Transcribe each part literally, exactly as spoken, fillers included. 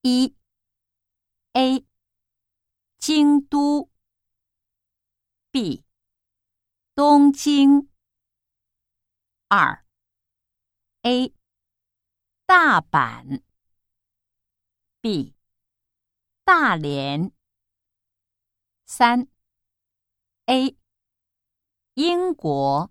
一 A 京都 B 东京二 A 大阪 B 大连三 A 英国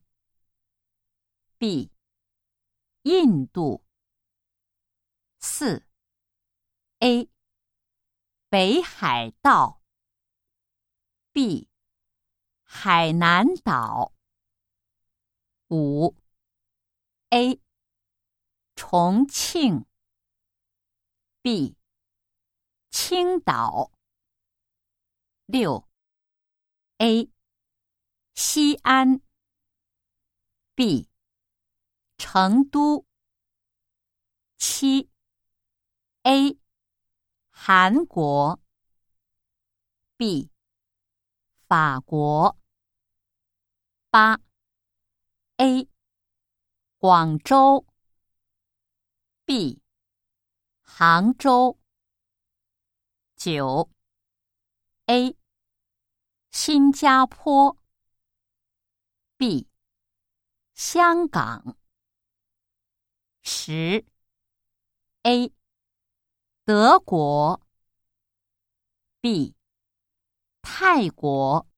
B 印度四 A 北海道 B 海南岛五 A 重庆 B 青岛六 A 西安 B 成都七 A 韩国 B 法国八 A 广州 B 杭州九 A 新加坡 B 香港十 A 德国 B 泰国